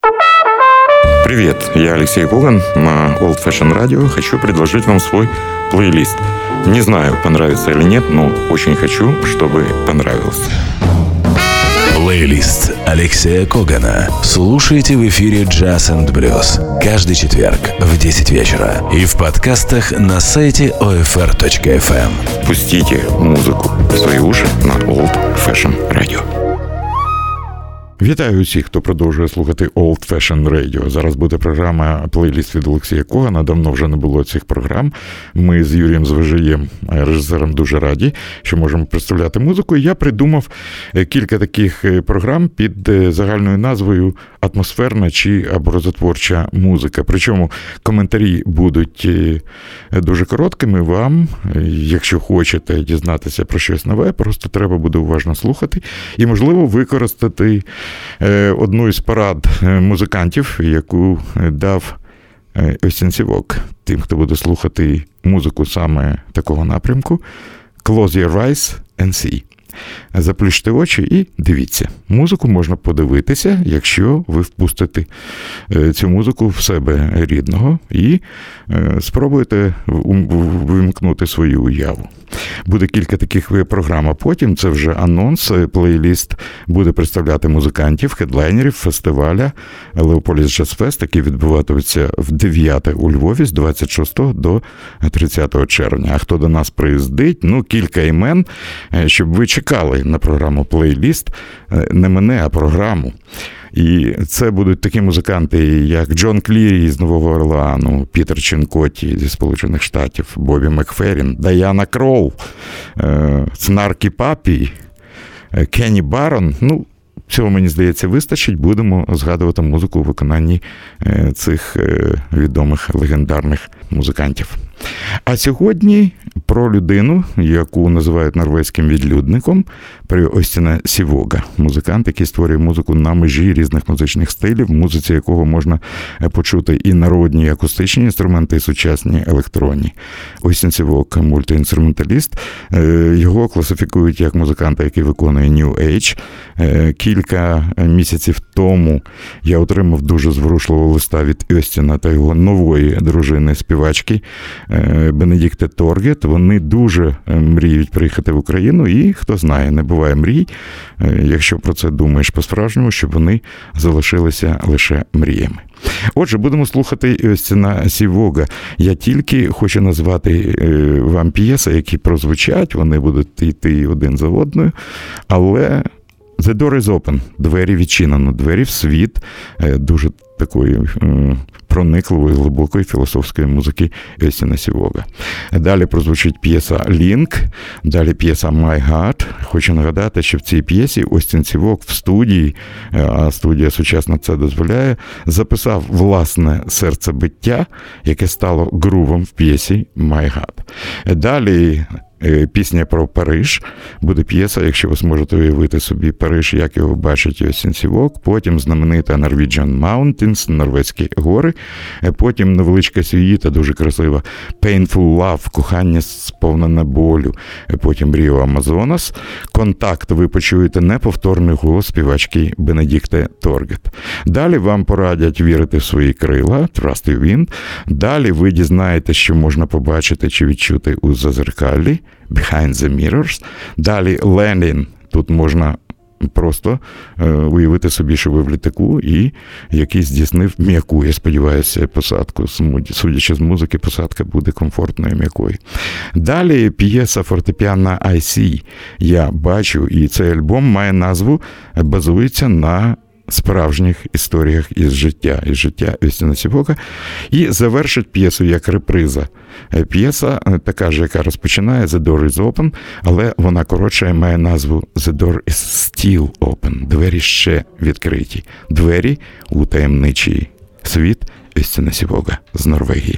Привет, я Алексей Коган на Old Fashion Radio. Хочу предложить вам свой плейлист. Не знаю, понравится или нет, но очень хочу, чтобы понравился. Плейлист Алексея Когана. Слушайте в эфире Jazz and Blues каждый четверг в 10 вечера и в подкастах на сайте OFR.FM. Пустите музыку в свої уші на Old Fashion Radio. Вітаю усіх, хто продовжує слухати Old Fashion Radio. Зараз буде програма «Плейліст» від Олексія Когана. Давно вже не було цих програм. Ми з Юрієм Звежиєм, режисером, дуже раді, що можемо представляти музику. І я придумав кілька таких програм під загальною назвою «Атмосферна» чи «Образотворча музика». Причому коментарі будуть дуже короткими. Вам, якщо хочете дізнатися про щось нове, просто треба буде уважно слухати і, можливо, використати одну із порад музикантів, яку дав Остін Сівок тим, хто буде слухати музику саме такого напрямку. Close your eyes and see. Заплющте очі і дивіться. Музику можна подивитися, якщо ви впустите цю музику в себе рідного і спробуєте вимкнути свою уяву. Буде кілька таких програм, а потім, це вже анонс, плейліст буде представляти музикантів, хедлайнерів фестиваля Леополіс Джаз Фест, який відбуватиметься в 9 у Львові з 26 до 30 червня. А хто до нас приїздить, кілька імен, щоб ви чекали на програму плейліст, не мене, а програму. І це будуть такі музиканти, як Джон Клірі з Нового Орлеану, Пітер Чинкотті зі Сполучених Штатів, Бобі Макферрін, Даяна Кролл, Снаркі Папі, Кенні Барон. Цього, мені здається, вистачить. Будемо згадувати музику у виконанні цих відомих легендарних музикантів. А сьогодні про людину, яку називають норвезьким відлюдником, про Остіна Сівога. Музикант, який створює музику на межі різних музичних стилів, в музиці якого можна почути і народні, і акустичні інструменти, і сучасні електронні. Остін Сівог – мультиінструменталіст. Його класифікують як музиканта, який виконує New Age. Кілька місяців тому я отримав дуже зворушливого листа від Остіна та його нової дружини-співачки Бенедікте Торгет. Вони дуже мріють приїхати в Україну і, хто знає, не буває мрій, якщо про це думаєш по-справжньому, щоб вони залишилися лише мріями. Отже, будемо слухати Остіна Сівога. Я тільки хочу назвати вам п'єси, які прозвучать, вони будуть йти один за одною, але The door is open. Двері відчинено. Двері в світ дуже такої проникливої, глибокої філософської музики Остіна Сівога. Далі прозвучить п'єса «Link», далі п'єса «My Heart». Хочу нагадати, що в цій п'єсі Остін Сівог в студії, а студія сучасна це дозволяє, записав власне серцебиття, яке стало грувом в п'єсі «My Heart». Далі пісня про Париж. Буде п'єса, якщо ви зможете уявити собі Париж, як його бачить Остін Сівог. Потім знаменита Norwegian Mountains, норвезькі гори. Потім невеличка сюїта, дуже красива Painful Love, кохання сповнене болю. Потім Ріо Амазонас. Контакт, ви почуєте неповторний голос співачки Бенедікте Торгет. Далі вам порадять вірити в свої крила, Trust Your Wind. Далі ви дізнаєтесь, що можна побачити чи відчути у зазеркаллі, Behind the Mirrors. Далі Landing. Тут можна просто уявити собі, що ви в літаку і який здійснив м'яку, я сподіваюся, посадку. Судячи з музики, посадка буде комфортною, м'якою. Далі п'єса фортепіано I See. Я бачу, і цей альбом має назву, базується на справжніх історіях із життя Остіна Сівога, і завершить п'єсу як реприза. П'єса така ж, яка розпочинає «The door is open», але вона коротше має назву «The door is still open». Двері ще відкриті. Двері у таємничий світ Остіна Сівога з Норвегії.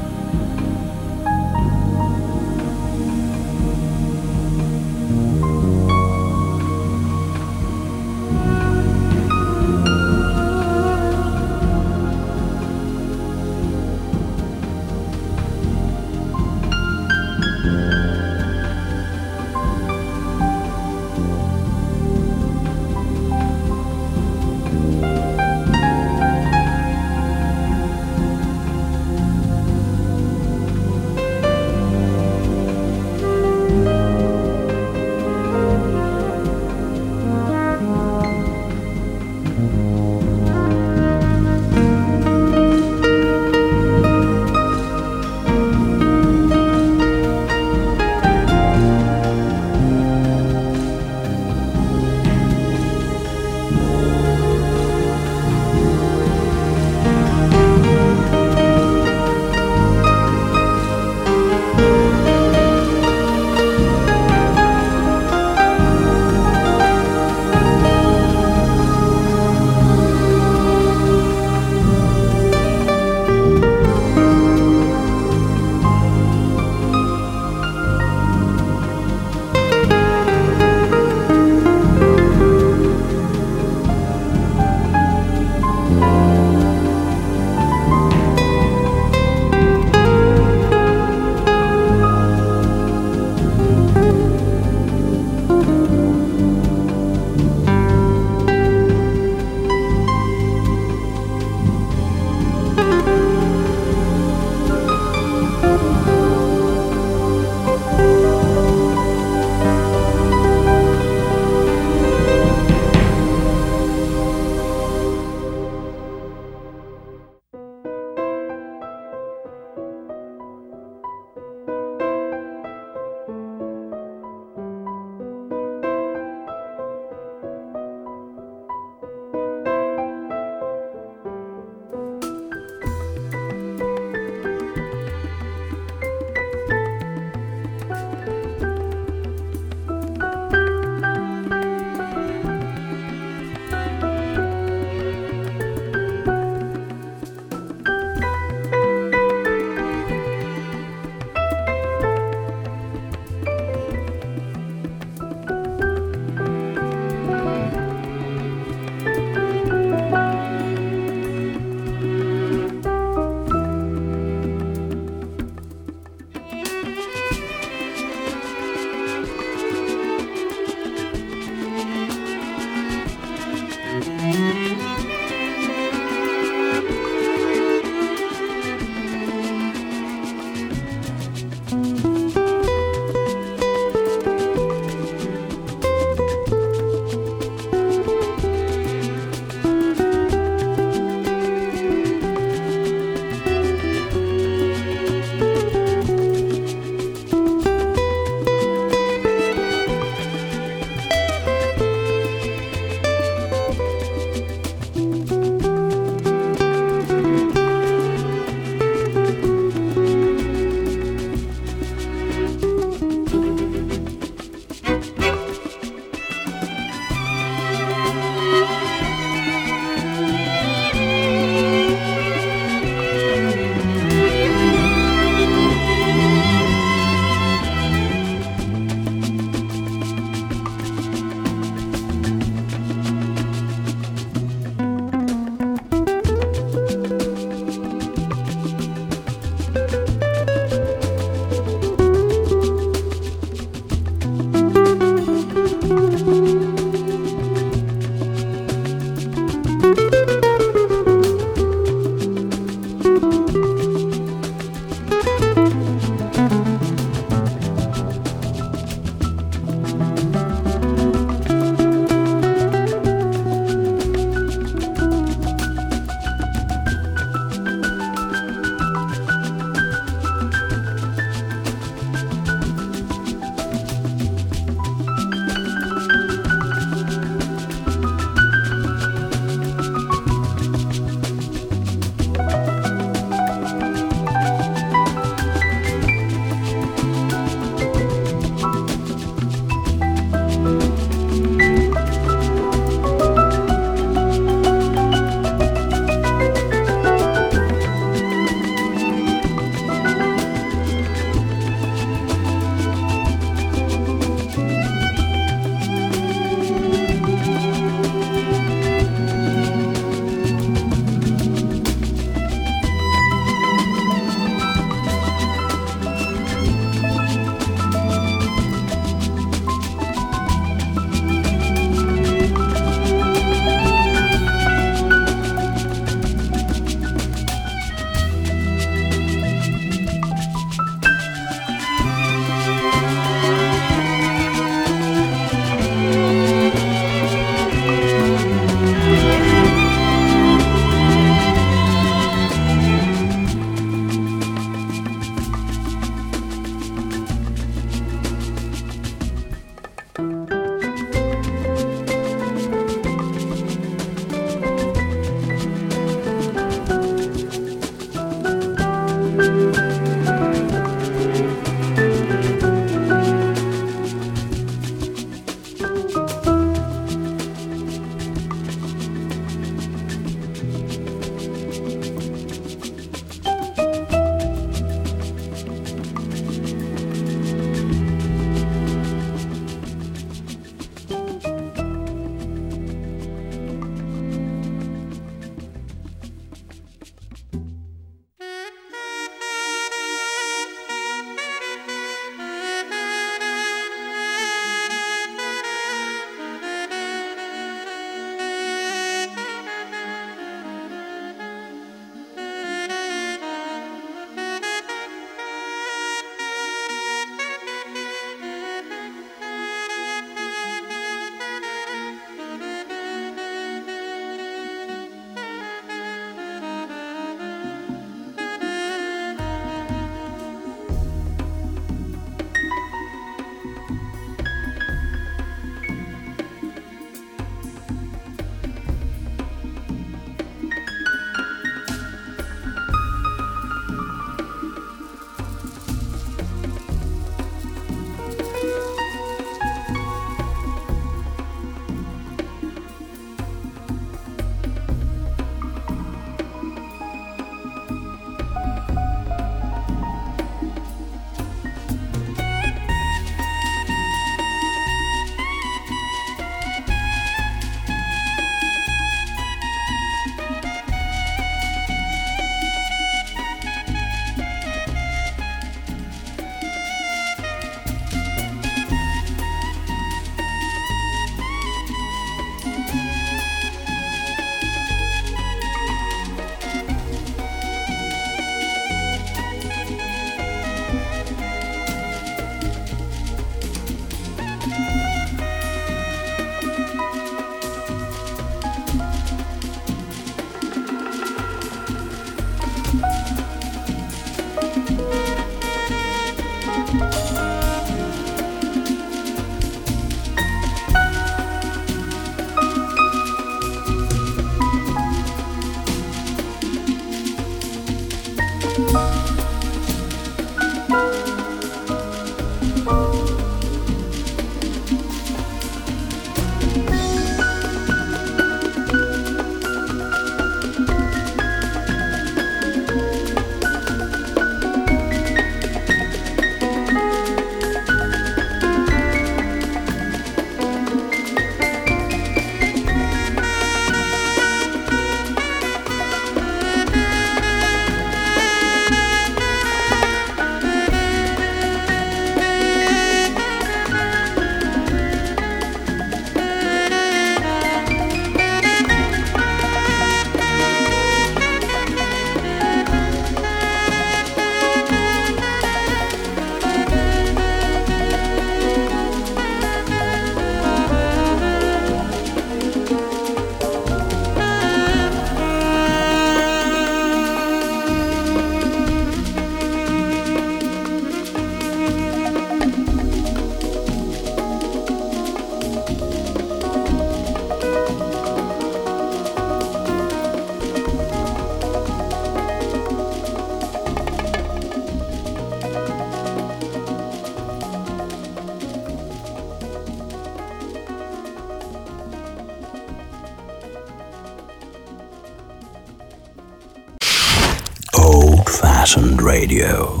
Old-fashioned radio.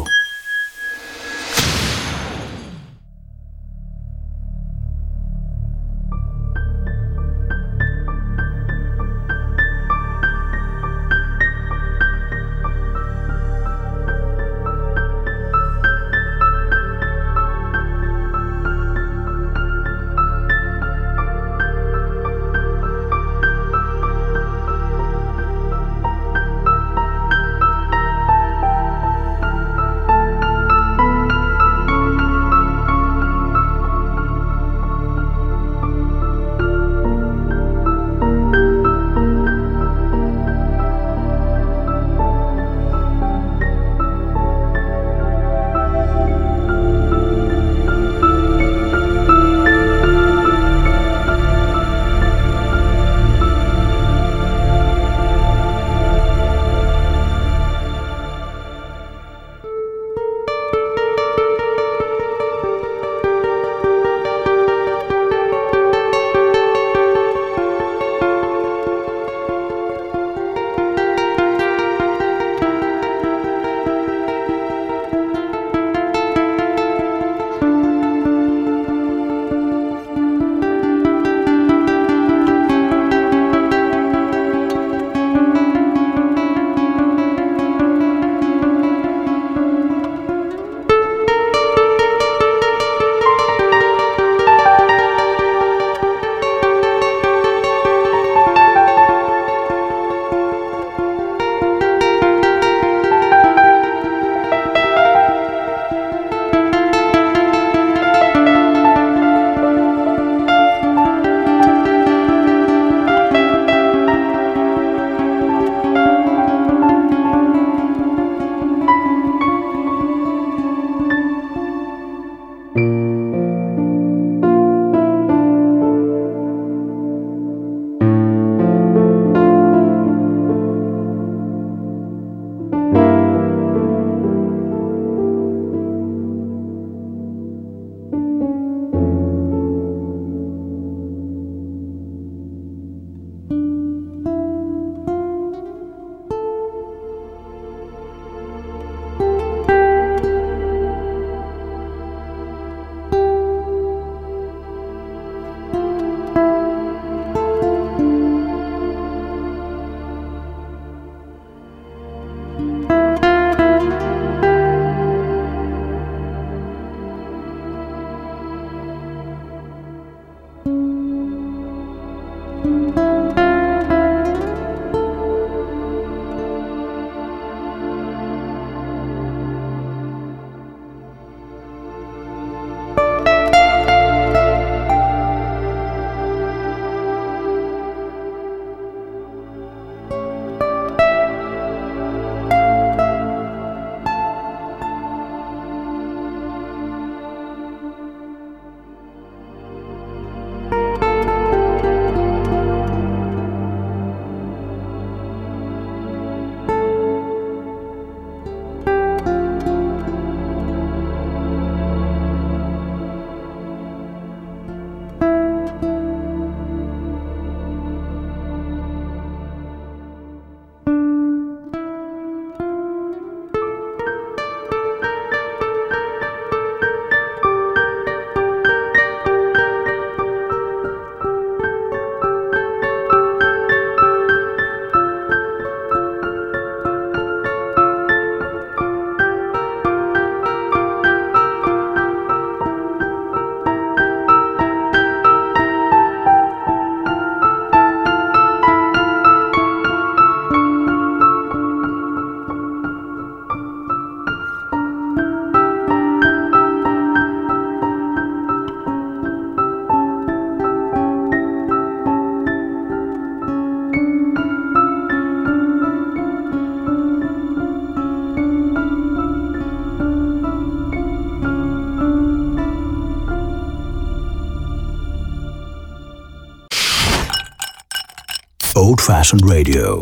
Old-fashioned radio.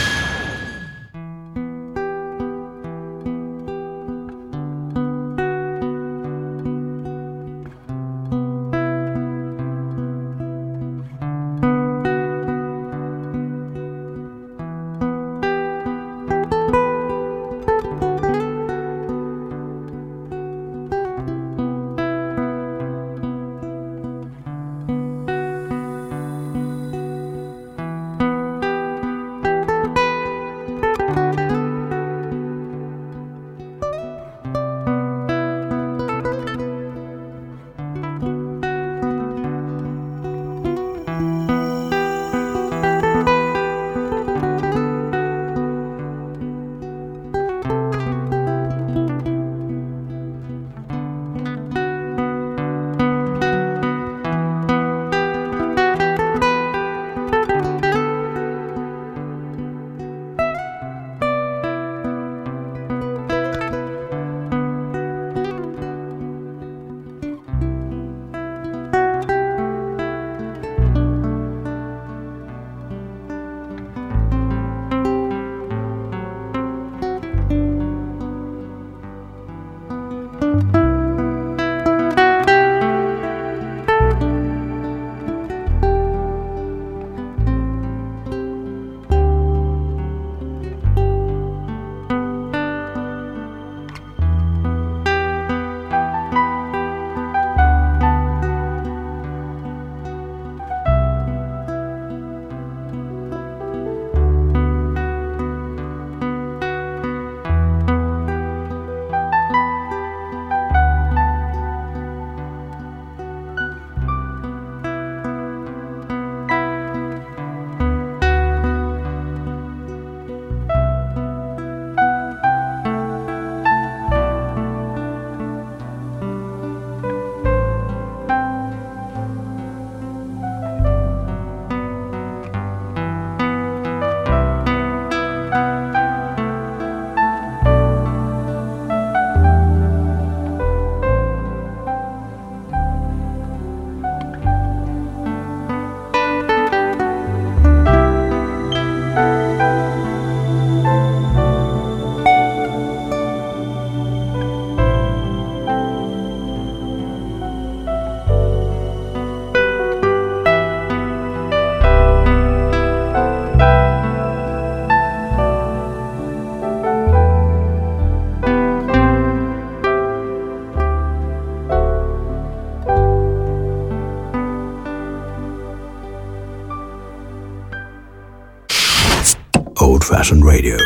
Old-fashioned radio.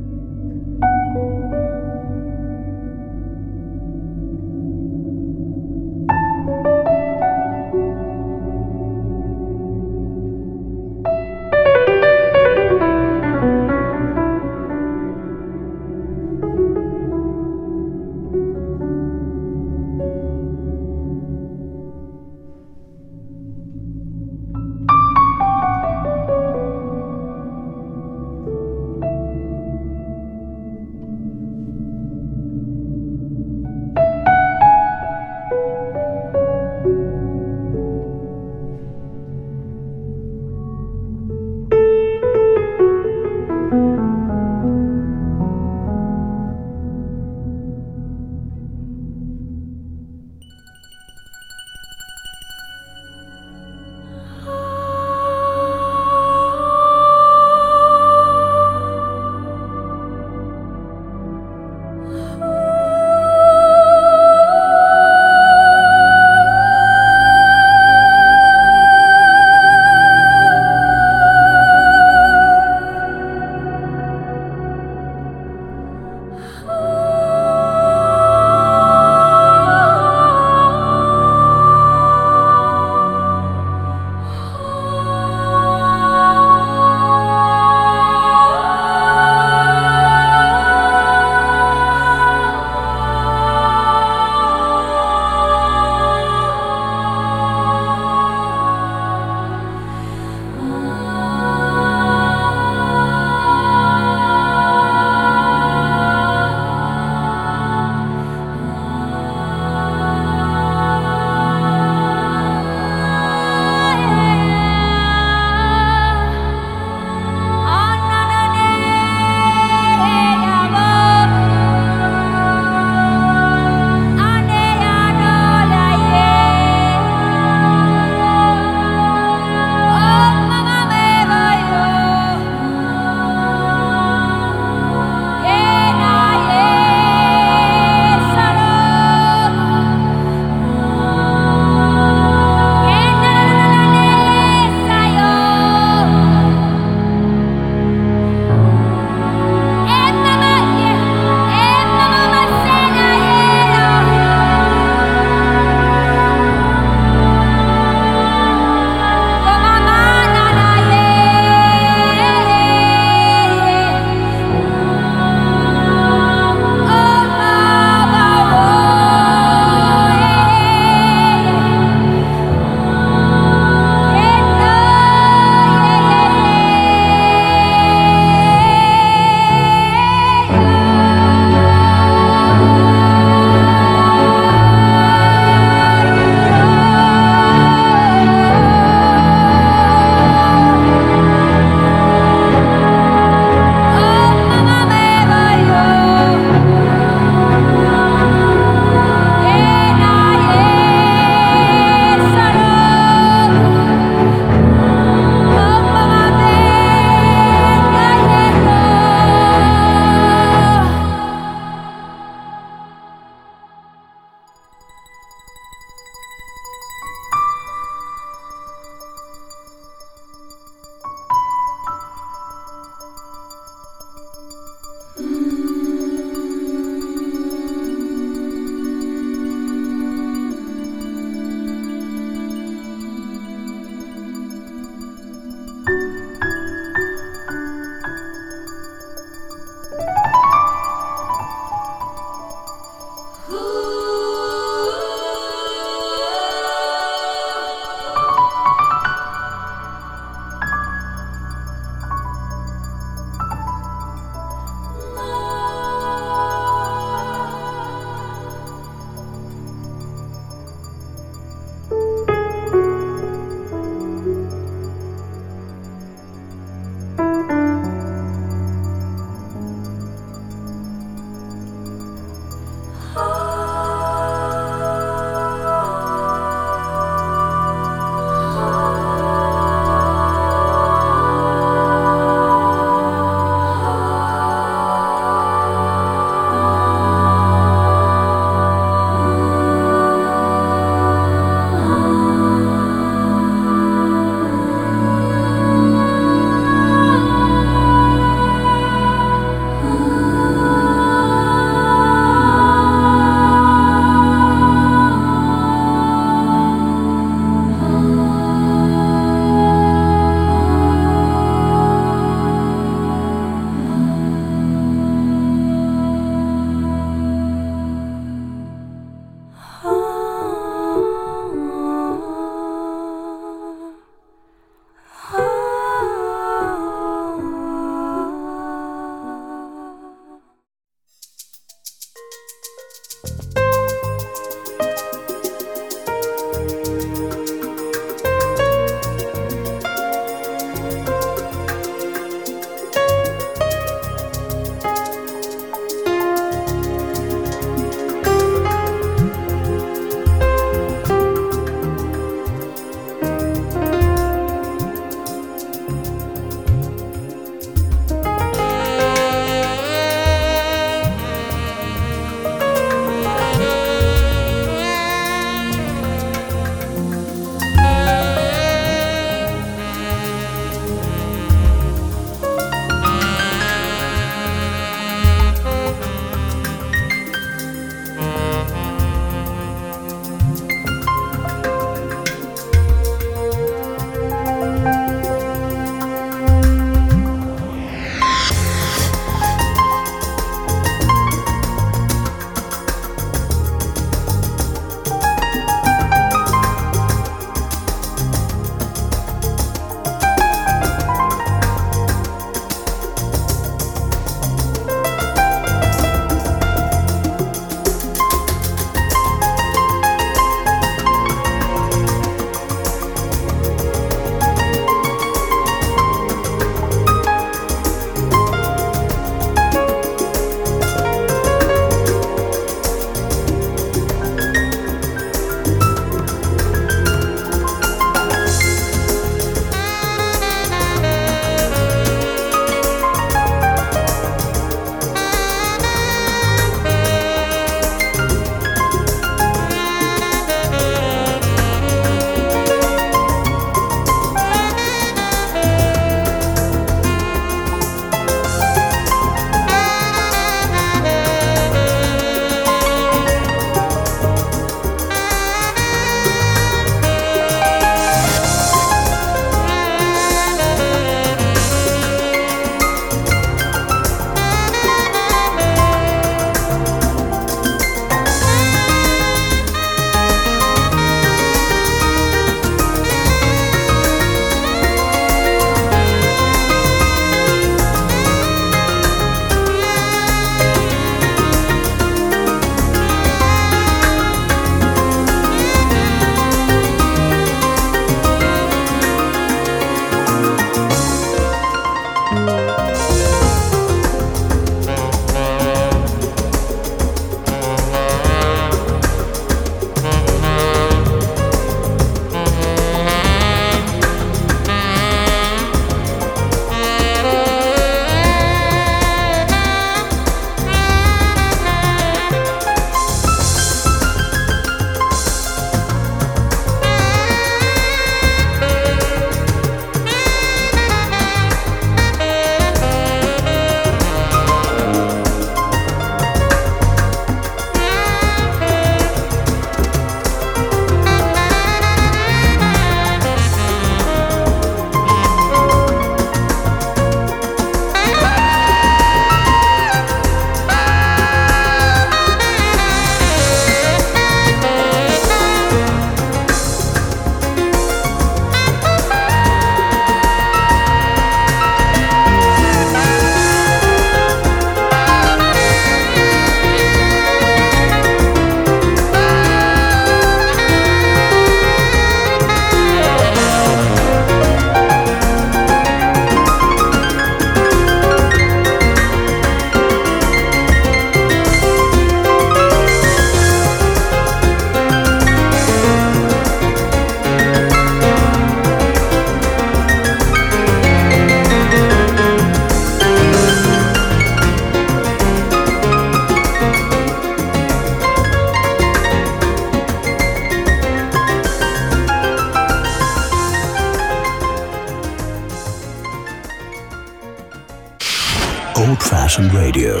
Old-fashioned radio.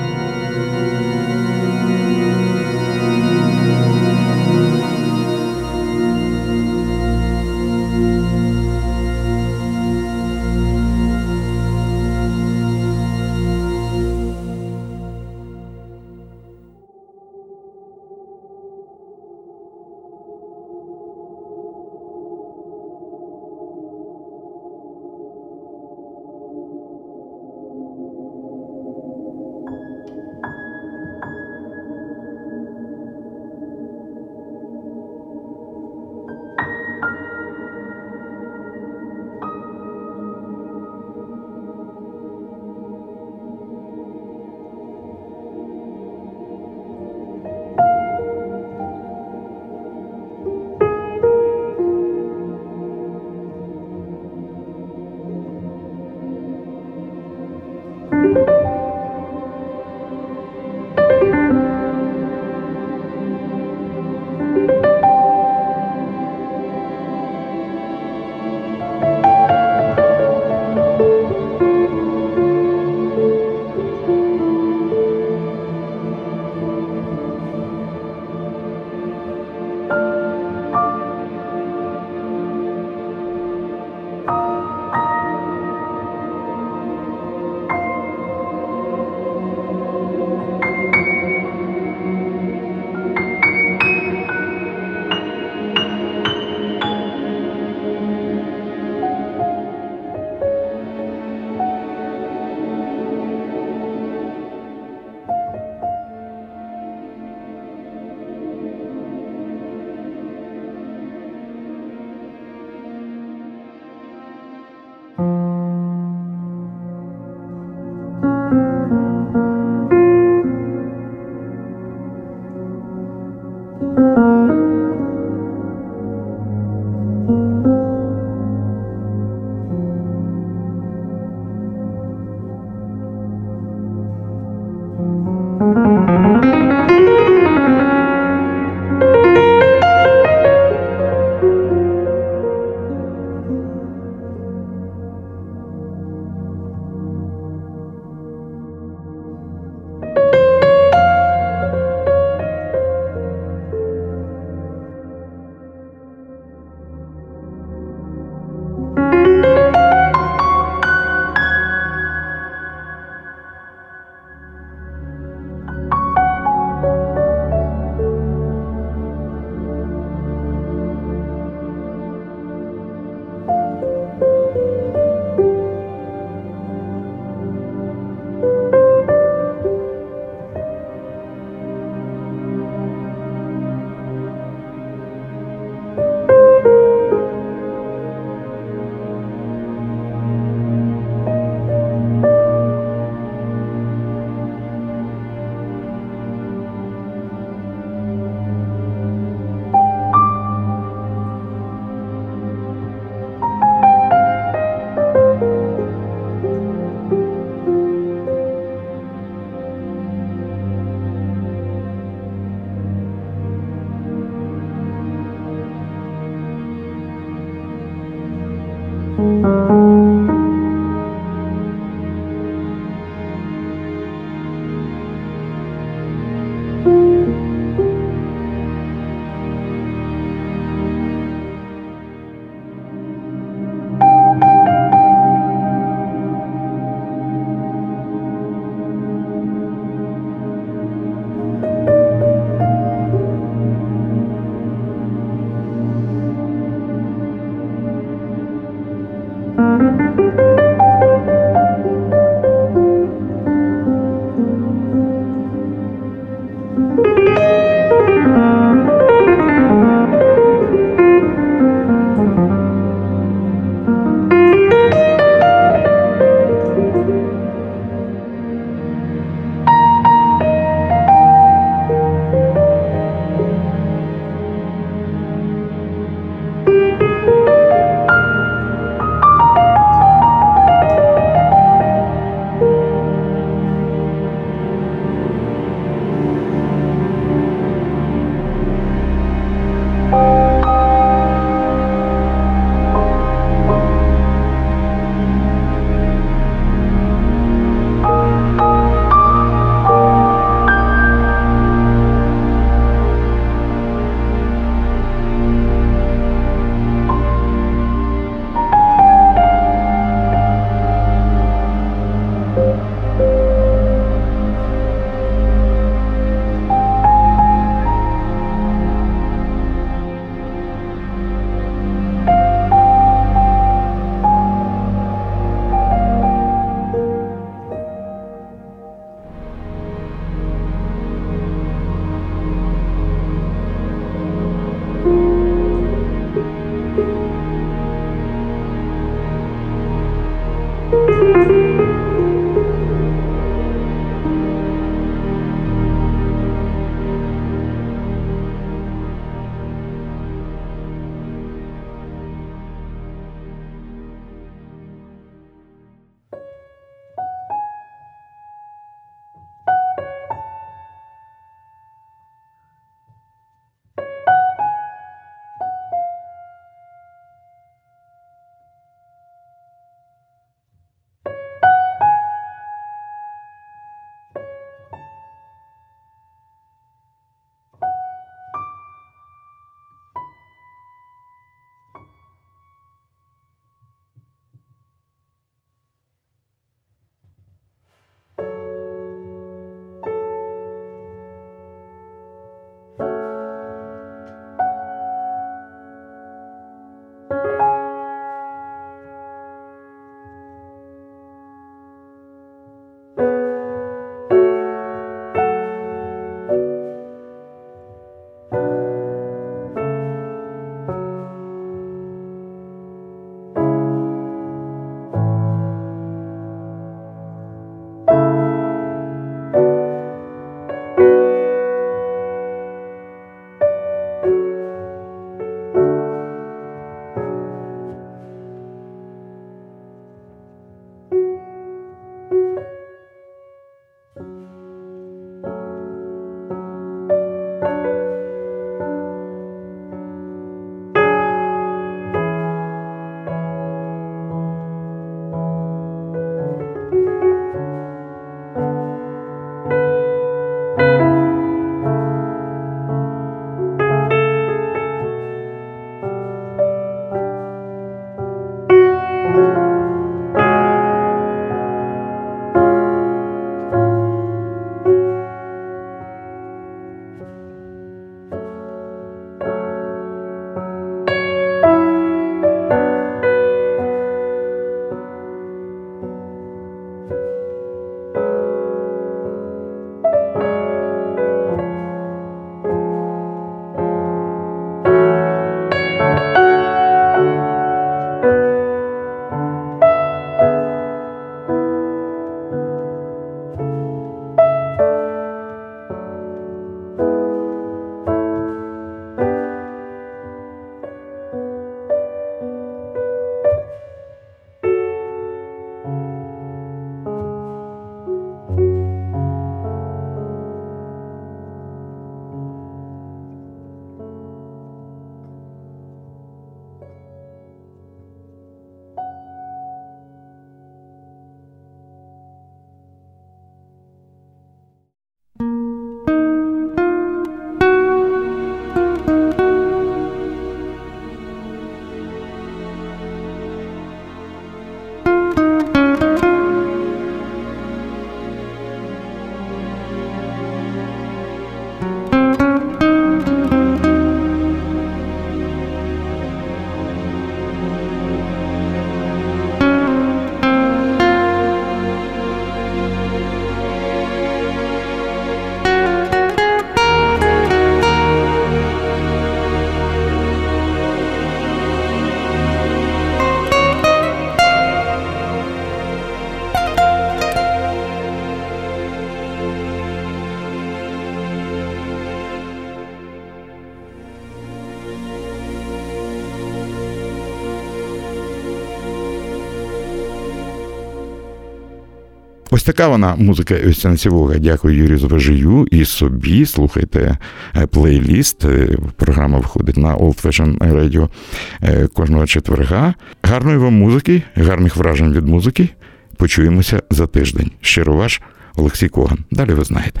Ось така вона музика Остянцевого. Дякую Юрію Звежію і собі. Слухайте плейліст. Програма виходить на Old Fashion Radio кожного четверга. Гарної вам музики, гарних вражень від музики. Почуємося за тиждень. Щиро ваш Олексій Коган. Далі ви знаєте.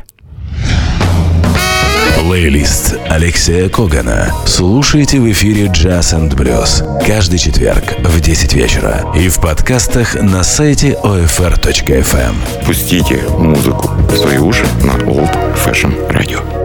Плейлист Алексея Когана. Слушайте в эфире Jazz and Blues каждый четверг в 10 вечера и в подкастах на сайте OFR.FM. Пустите музыку в свои уши на Old Fashion Radio.